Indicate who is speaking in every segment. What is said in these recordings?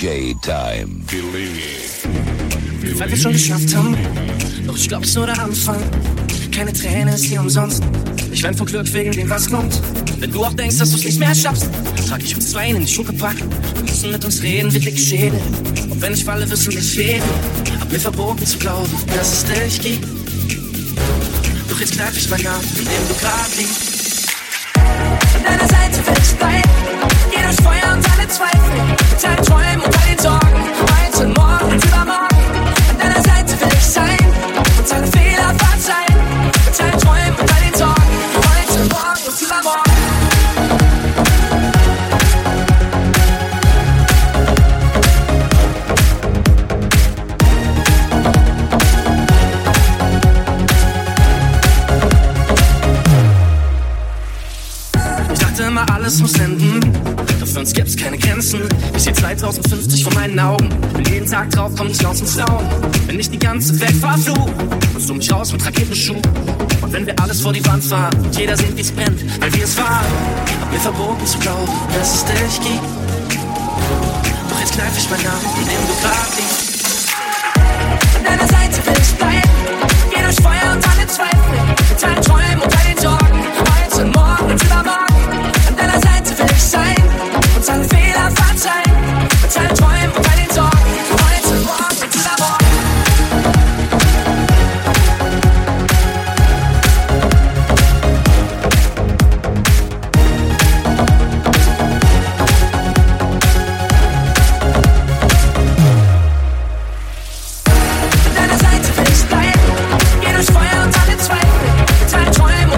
Speaker 1: DJ Time.
Speaker 2: Weil wir schon geschafft haben, doch ich glaub, es ist nur der Anfang. Keine Träne ist hier umsonst. Ich wein vor Glück wegen dem, was kommt. Wenn du auch denkst, dass du's nicht mehr schaffst, trag ich uns zwei in die Schuhgepack. Wir müssen mit uns reden, wie dicke Schädel. Und wenn ich falle, wirst du mich heben. Hab mir verboten zu glauben, dass es dich gibt. Doch jetzt greif ich mein Arm, in dem du grad liegst. An deiner Seite will ich bleiben. Geh durch Feuer und alle Zweifel. Mit deinen Träumen und all den Sorgen. Heute, morgen und übermorgen. An deiner Seite will ich sein. Und deine Fehler verzeihen. Mit deinen Träumen und all den Sorgen. Heute, morgen und übermorgen. Alles muss enden, doch für uns gibt's keine Grenzen. Ich seh 2050 vor meinen Augen, bin jeden Tag drauf, komm nicht raus ins Staunen. Wenn ich die ganze Welt verfluch, holst du mich raus mit Raketenschuh. Und wenn wir alles vor die Wand fahren und jeder sieht, wie's brennt, weil wir es waren, hab mir verboten zu glauben, dass es dich gibt. Doch jetzt kneif ich meinen Arm, in dem du grad liegst. An deiner Seite will ich bleiben, geh durch Feuer und alle Zweifel. Mit deinen Träumen und all den Sorgen, heute, morgen und übermorgen. An deiner Seite will ich sein und alle Fehler verzeihen. Mit deinen Träumen und all den Sorgen, heute, morgen und übermorgen. An deiner Seite will ich bleiben, geh durch Feuer und alle Zweifel. Mit deinen Träumen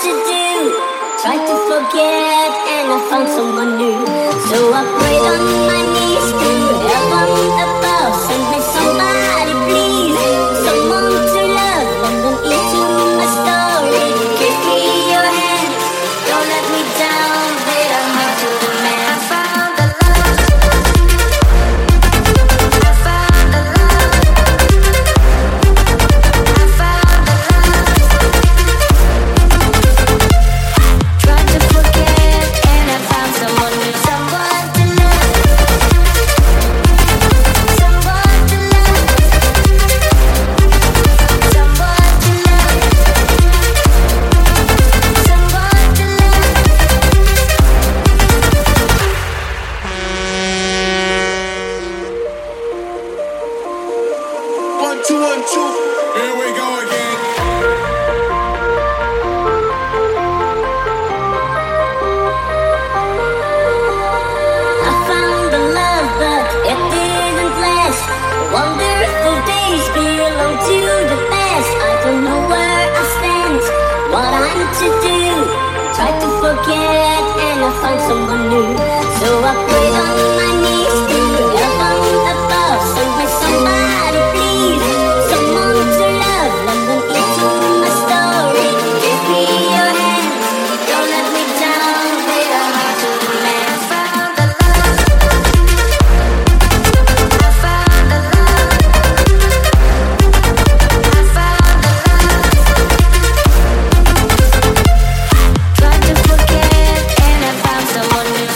Speaker 1: to do. Tried to forget and I found someone new. So I prayed on my knees to heaven above. Send me somebody please, someone to love. London into my story. Give me your hand, don't let me down. Wait, I'm up to the man. I found the love. I found the love. I found the love. Tried to forget and I found someone new. Someone to love. Someone to love. Someone to love. Someone to love.
Speaker 3: 1 2 1 2. Here we go again.
Speaker 1: I found the love, but it didn't last. Wonder if the days belong to the past. I don't know where I stand, what I'm to do. Tried to forget and I found someone new. So I prayed on my knees to heaven above. Send me somebody please, someone to love. London into my story. Give me your hand, don't let me down. Wait, I'm up to the man. I found the love. I found the love. I found the love. Tried to forget and I found someone new.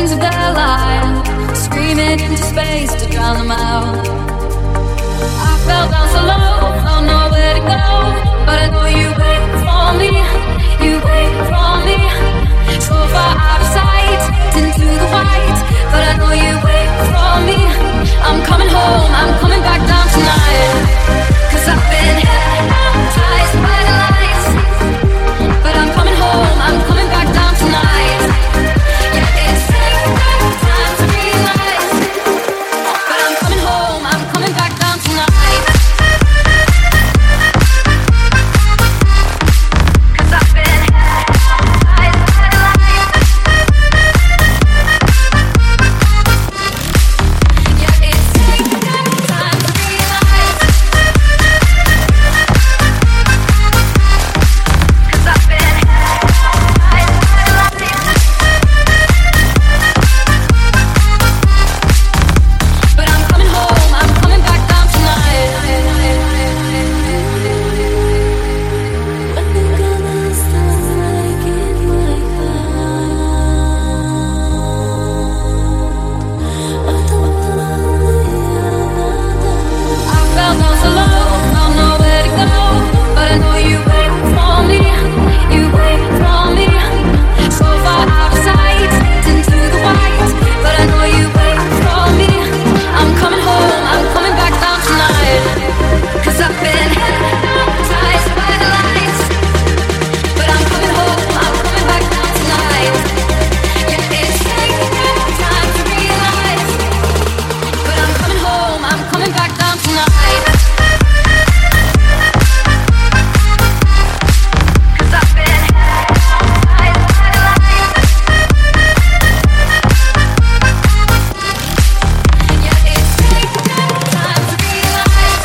Speaker 4: into their light, screaming into space to drown them out. I fell down so low, found nowhere to go, but I know you wait for me, you wait for me. So far out of sight, into the white, but I know you wait for me. I'm coming home, I'm coming back down tonight, 'cause I've been hypnotized by the lights. But I'm coming home, I'm coming back down tonight. Yeah, it's taken time to realize, but I'm coming home, I'm coming back down tonight. 'Cause I've been hypnotized by the lights. Yeah, it's taken time to realize, 'cause I've been hypnotized by the lights. But I'm coming home, I'm coming back down tonight. When you gonna stop making my I fell down so low, found nowhere to go, but I know you wait for me, you wait for me. So far out of sight, into the white, but I know you wait for me. I'm coming home, I'm coming back down tonight, 'cause I've been hypnotized by the lights. But I'm coming home, I'm coming back down tonight. Yeah, it's taken time to realize, but I'm coming home, I'm coming back down tonight. 'Cause I've been hypnotized by the lights. Yeah, it's taken time to realize,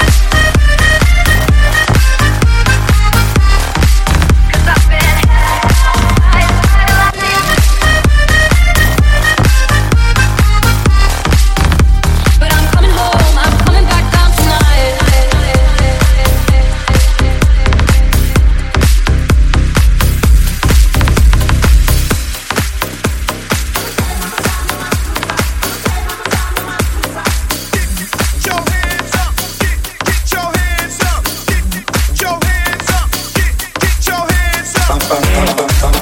Speaker 4: 'cause I've been hypnotized by the lights. But I'm coming home, I'm coming back down tonight.
Speaker 3: Get your hands up, get your hands up, get your hands up, get your hands up.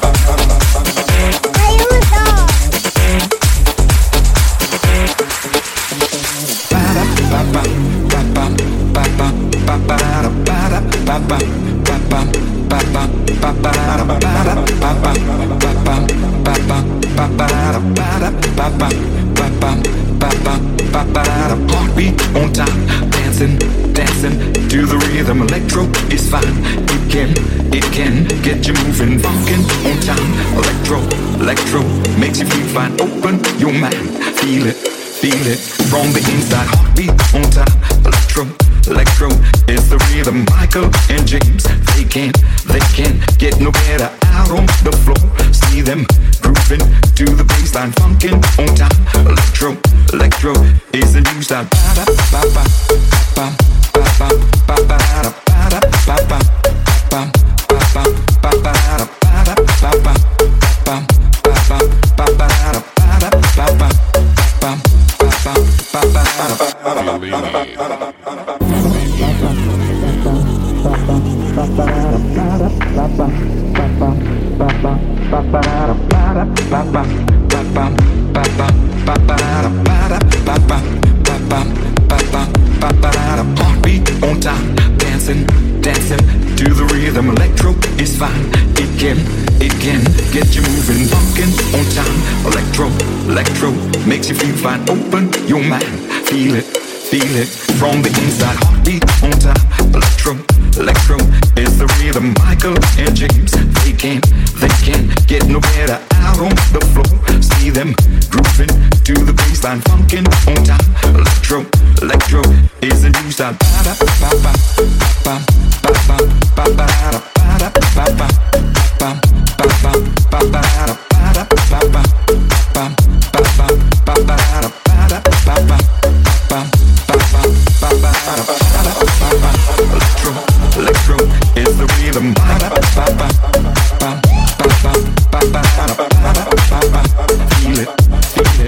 Speaker 5: Heartbeat on time, dancing, dancing to the rhythm. Electro is fine, it can get you moving. Funkin' on time, electro makes you feel fine. Open your mind, feel it from the inside. Heartbeat on time, electro is the rhythm. Michael and James, they can't get no better. Out on the floor, see them grooving to the baseline. Funkin' on time, electro is the new style. Heartbeat on time, dancing to the rhythm. Electro is fine, it can get you moving. Funkin' on time, electro makes you feel fine. Open your mind, feel it from the inside. Heartbeat on time, electro is the rhythm. Michael and James, they can't get no better. Out on the floor, see them grooving to the baseline. Funkin' on time, electro is the new style. Electro is the rhythm. Feel it.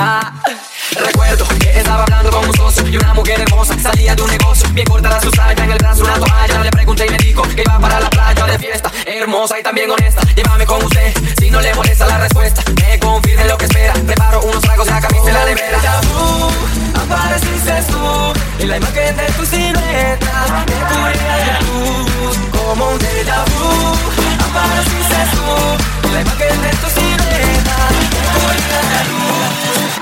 Speaker 2: Recuerdo que estaba hablando con un socio y una mujer hermosa salía de un negocio. Bien corta la susaya, en el brazo una toalla. Le pregunté y me dijo que iba para la playa de fiesta. Hermosa y también honesta, llévame con usted si no le molesta la respuesta. Me confirme lo que espera, preparo unos tragos, la camisa y la nevera. Ya tú, apareciste tú en la imagen de tu silueta. Me cubría de luz como un déjà vu. Apareciste tú en la imagen de tu silueta. Me cubría de luz.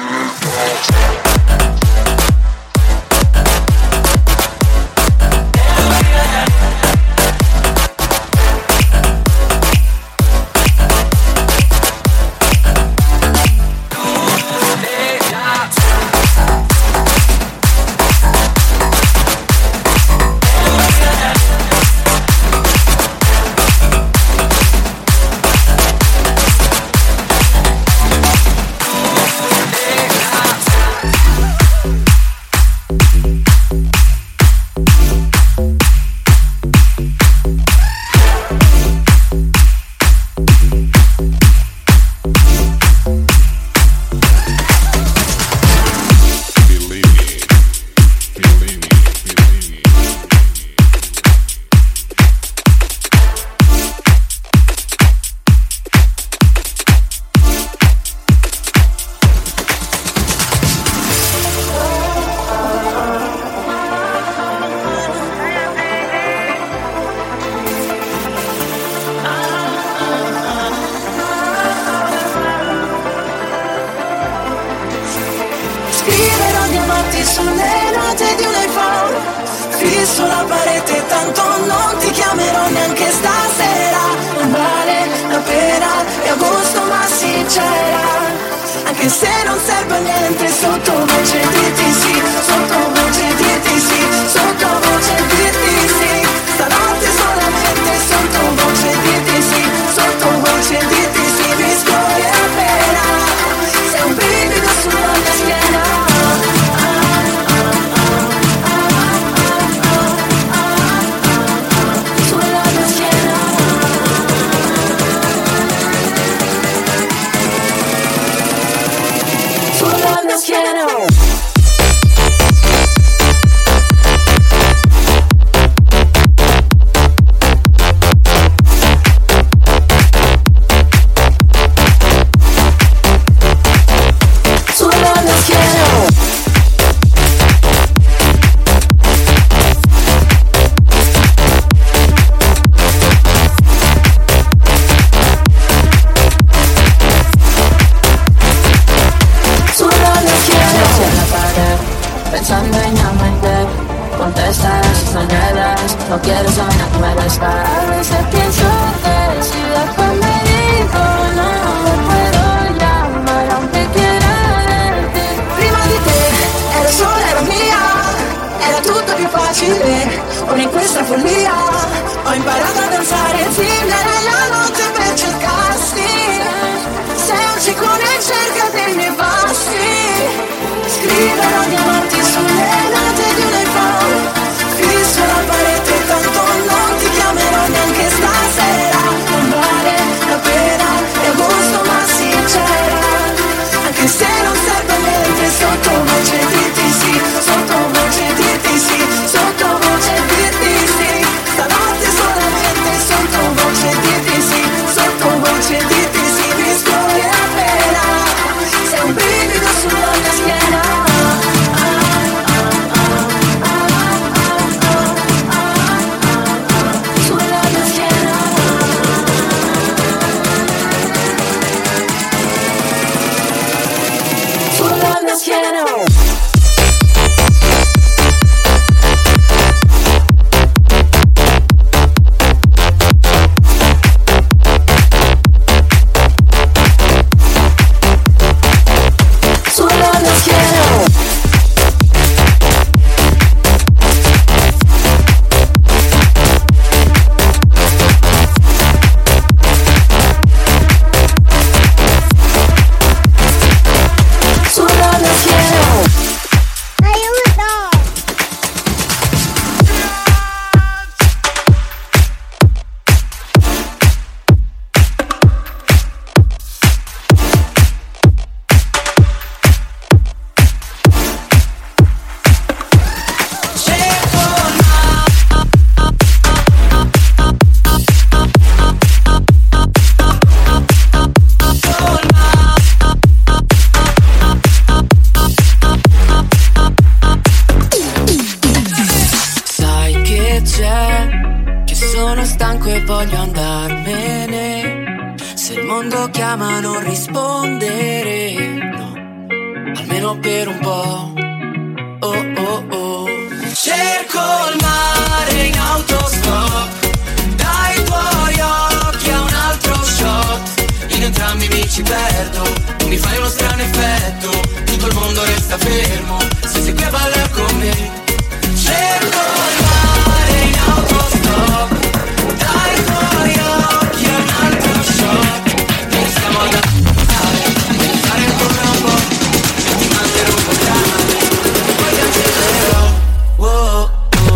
Speaker 2: voglio andarmene. Se il mondo chiama non rispondere, no, almeno per un po'. Oh oh oh. Cerco il mare in autostop, dai tuoi occhi a un altro shot. In entrambi mi ci perdo, tu mi fai uno strano effetto, tutto il mondo resta fermo, se sei qui a ballare con me. Cerco il mare in autostop, dai tuoi occhi a un altro shot. Noi stiamo ad andare, devi fare ancora un po', e ti manderò un programma, e poi cancellerò. Wow.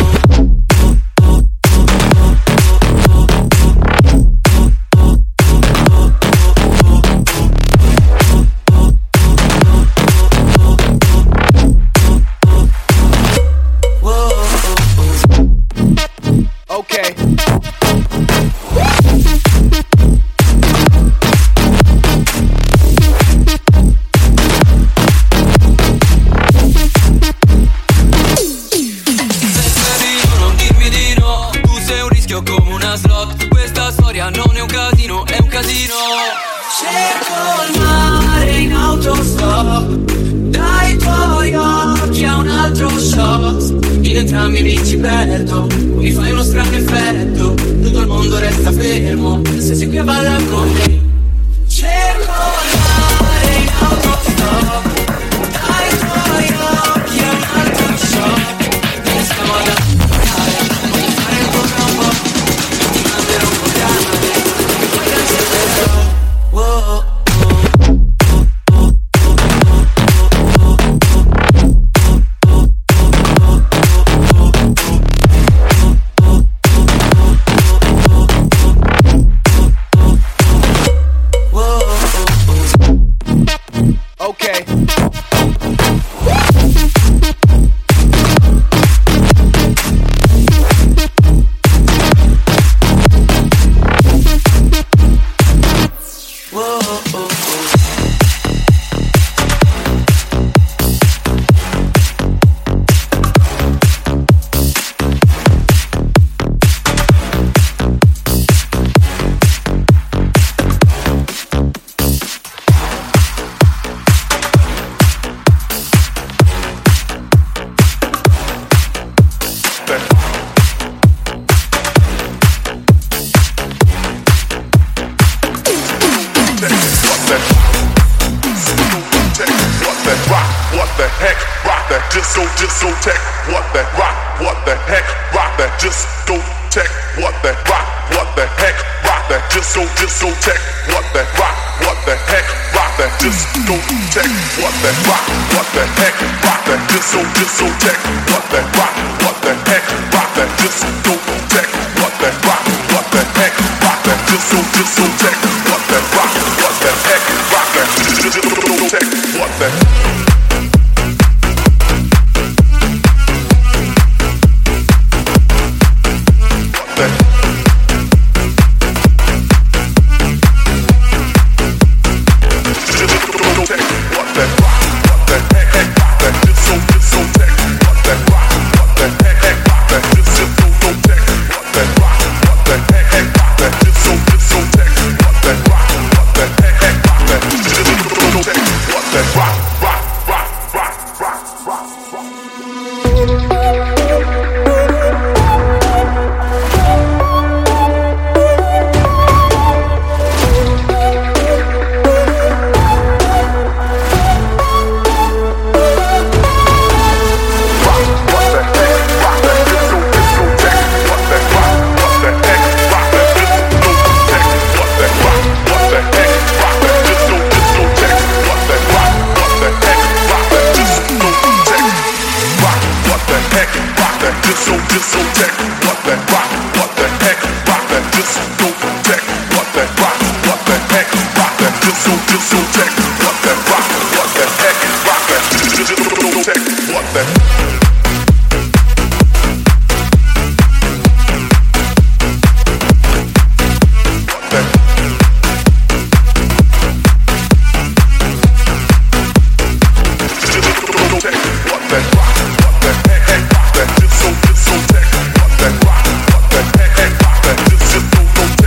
Speaker 3: Okay.
Speaker 2: Non dirmi di no, tu sei un rischio come una slot. Questa storia non è un casino, è un casino. Cerco il mare in autostop, dai tuoi occhi a un altro shot. In entrambi mi ci perdo, mi fai uno strano effetto, tutto il mondo resta fermo, se sei qui a ballare con me. Cerco il mare in autostop, dai tuoi occhi a un altro shot. Noi stiamo ad andare, voglio fare ancora un po', e ti manderò un programma, e poi cancellerò. Wow.
Speaker 3: Okay.
Speaker 6: Discotheque, what the rock, what the heck, rock that discotheque, what the rock, what the heck, rock that discotheque, what the rock, what the heck, rock that discotheque, what the rock, what the heck, rock that discotheque, what the rock, what the heck, rock that discotheque, what the rock, what the heck, rock that discotheque, what the rock, what the heck, rock that discotheque, what the What the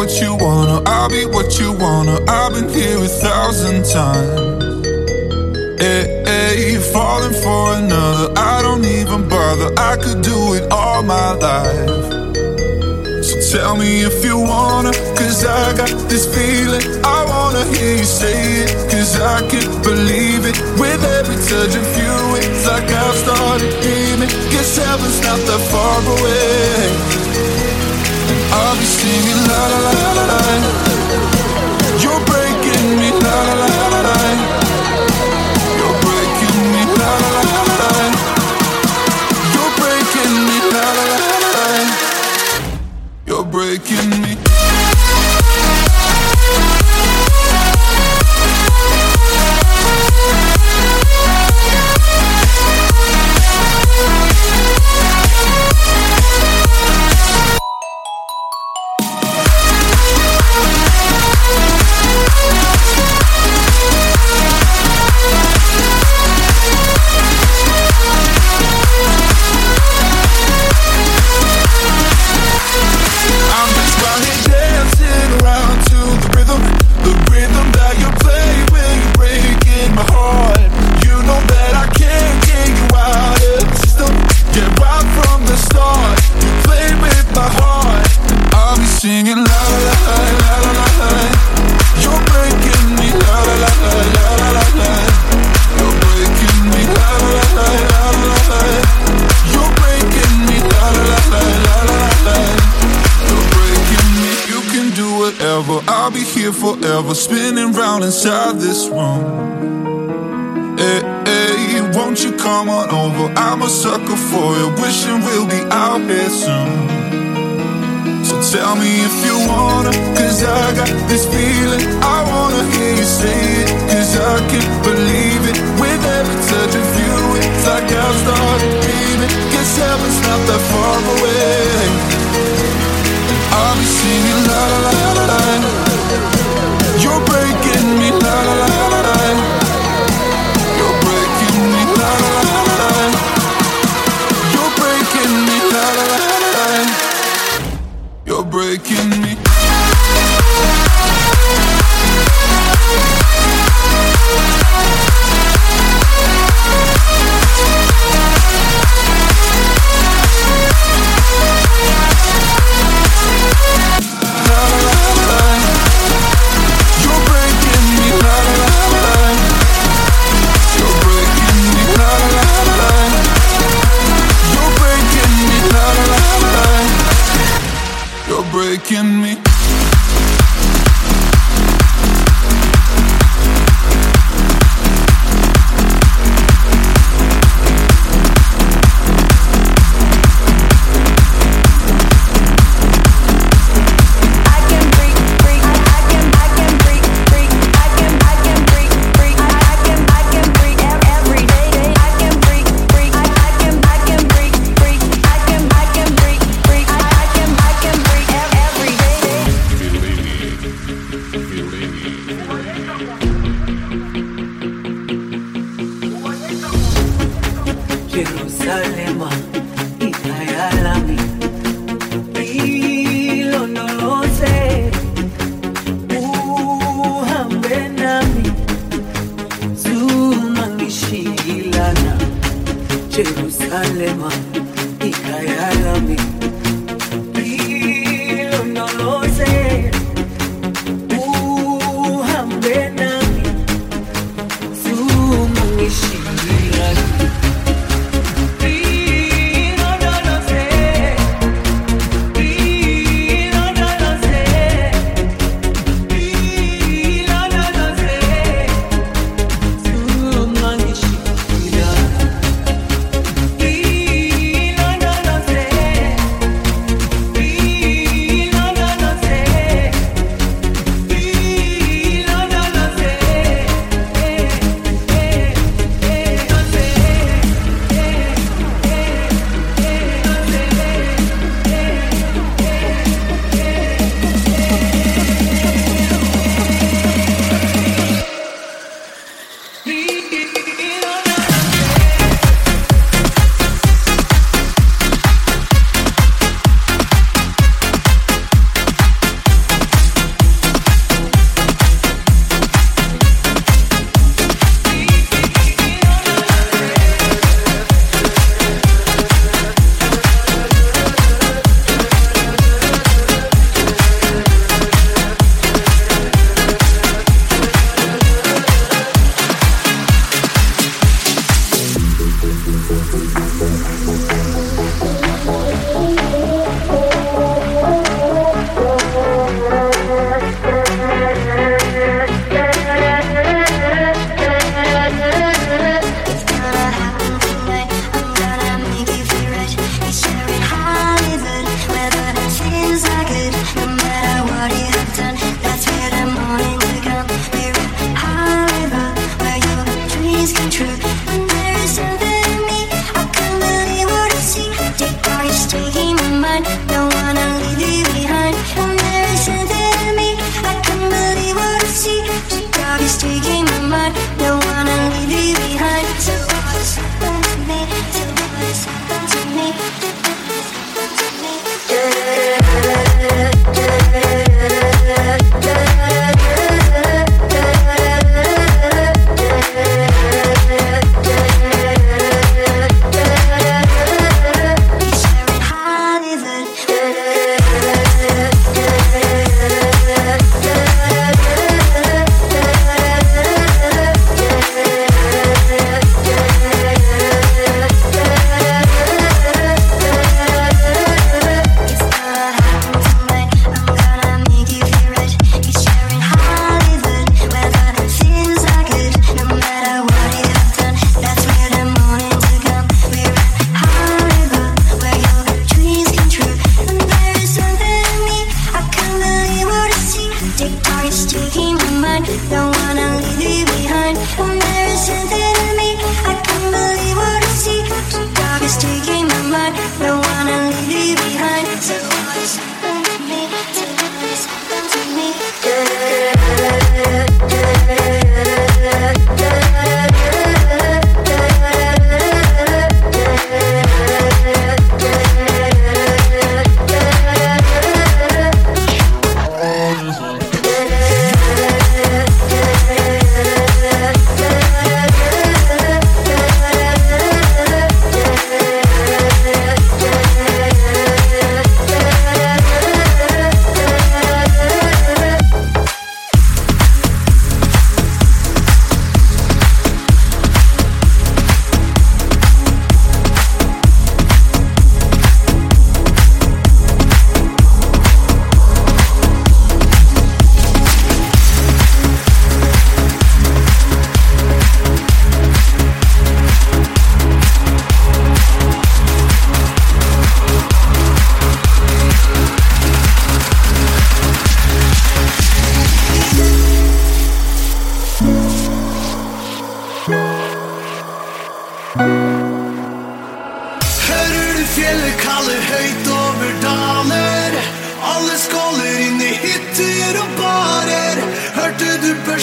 Speaker 7: what you wanna, I'll be what you wanna. I've been here 1,000 times. Hey, falling for another, I don't even bother. I could do it all my life. So tell me if you wanna, cause I got this feeling. I wanna hear you say it, cause I can't believe it. With every touch of you, it's like I've started dreaming. Guess heaven's not that far away. And I'll be singing la la la la la. You're breaking me la la la la la. You're breaking me la la la la la. You're breaking me la la la la la. You're breaking me. Forever spinning round inside this room. Hey, won't you come on over? I'm a sucker for you, wishing we'll be out here soon. So tell me if you wanna, cause I got this feeling. I wanna hear you say it, cause I can't believe it. With every touch of you, it's like I've started dreaming. Guess heaven's not that far away. I'll be singing la la la la la. You're breaking me la la la la la. You're breaking me la la la la la. You're breaking me la la la la la. You're breaking me. Breaking me.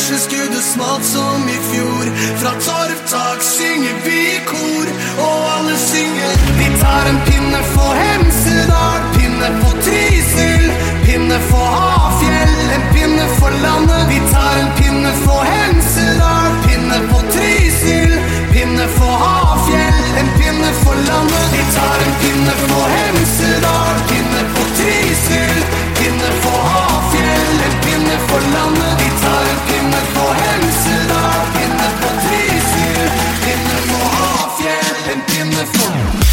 Speaker 8: børseskuddet smalt som i fjor. Fra torvtak synger vi i kor, og alle synger. Vi tar en pinne for Hemsedal, pinne for Trysil, pinne for Hafjell, en pinne for landet. Vi tar en pinne for Hemsedal, pinne for Trysil, pinne for Hafjell, en pinne for landet. Vi tar en pinne for Hemsedal, pinne for Trysil, pinne for Hafjell, en pinne for landet. Vi tar en pinne for Hemsedal, pinne for Trysil, pinne for Hafjell, en pinne for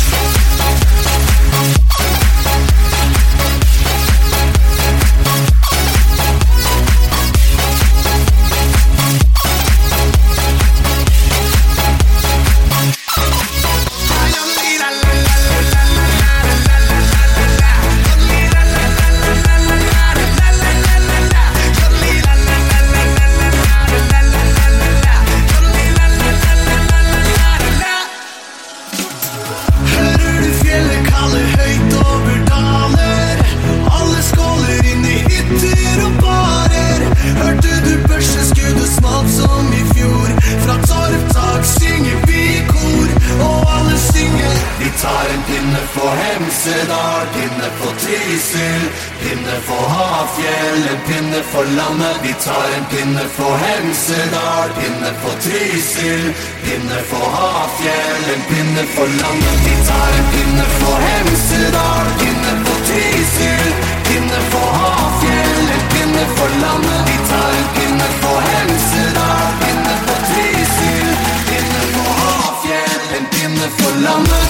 Speaker 8: Hemsedal, pinne for Trysil, pinne for Hafjell, en pinne for landet. Vi tar en pinne for Hemsedal, pinne for Trysil, pinne for Hafjell, en pinne for landet. Vi tar en pinne for Hemsedal, pinne for Trysil, pinne for Hafjell, en pinne for landet. Vi tar en pinne for Hemsedal, pinne for Trysil, pinne for Hafjell, en pinne for landet.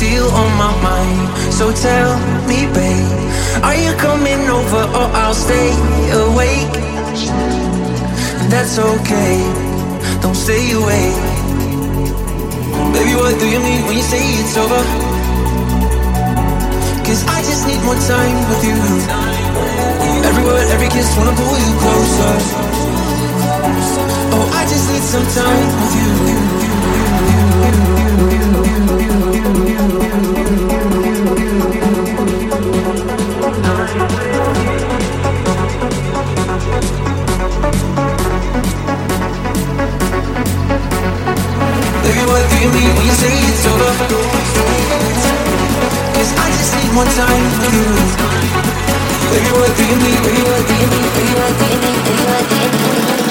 Speaker 2: still on my mind. So tell me, babe, are you coming over or I'll stay awake? That's okay, don't stay away. Baby, what do you mean when you say it's over? 'Cause I just need more time with you. Every word, every kiss, wanna pull you closer. Oh, I just need some time with you. Baby, what do you mean when you say it's over? 'Cause I just need more time with you. Baby, what do you mean? Baby, what do you mean? Baby, what do you mean? Baby, what do you mean?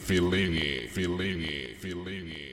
Speaker 7: Fellini.